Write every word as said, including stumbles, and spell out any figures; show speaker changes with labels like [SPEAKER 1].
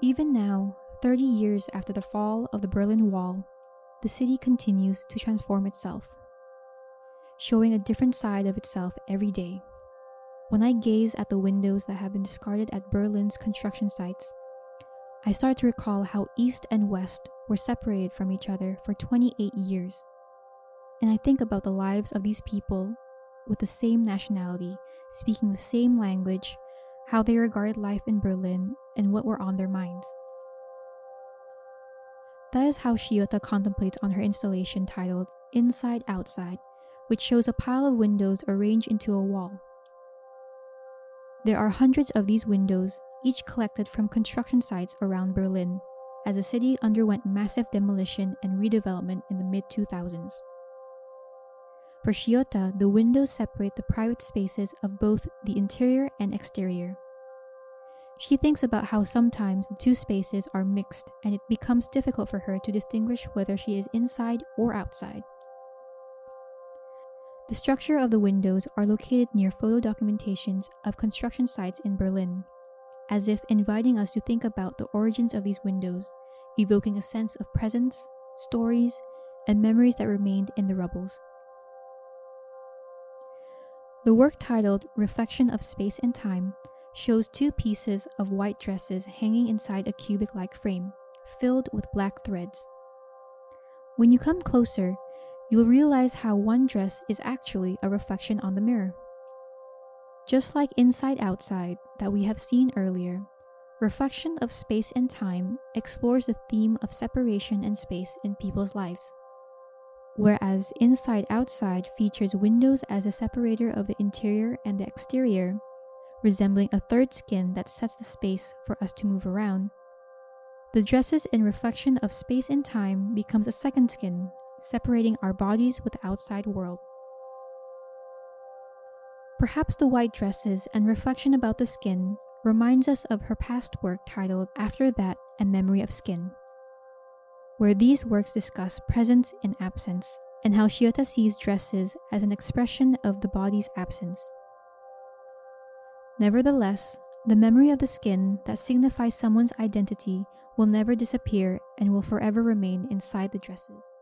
[SPEAKER 1] Even now, thirty years after the fall of the Berlin Wall, the city continues to transform itself, showing a different side of itself every day. When I gaze at the windows that have been discarded at Berlin's construction sites, I start to recall how East and West were separated from each other for twenty-eight years. And I think about the lives of these people with the same nationality, speaking the same language, how they regarded life in Berlin, and what were on their minds. That is how Shiota contemplates on her installation titled Inside Outside, which shows a pile of windows arranged into a wall. There are hundreds of these windows, each collected from construction sites around Berlin, as the city underwent massive demolition and redevelopment in the mid two thousands. For Shiota, the windows separate the private spaces of both the interior and exterior. She thinks about how sometimes the two spaces are mixed and it becomes difficult for her to distinguish whether she is inside or outside. The structure of the windows are located near photo documentations of construction sites in Berlin, as if inviting us to think about the origins of these windows, evoking a sense of presence, stories, and memories that remained in the rubbles. The work titled Reflection of Space and Time shows two pieces of white dresses hanging inside a cubic-like frame, filled with black threads. When you come closer, you'll realize how one dress is actually a reflection on the mirror. Just like Inside Outside that we have seen earlier, Reflection of Space and Time explores the theme of separation and space in people's lives. Whereas Inside Outside features windows as a separator of the interior and the exterior, resembling a third skin that sets the space for us to move around, the dresses in Reflection of Space and Time becomes a second skin, separating our bodies with the outside world. Perhaps the white dresses and reflection about the skin reminds us of her past work titled After That and Memory of Skin, where these works discuss presence and absence, and how Shiota sees dresses as an expression of the body's absence. Nevertheless, the memory of the skin that signifies someone's identity will never disappear and will forever remain inside the dresses.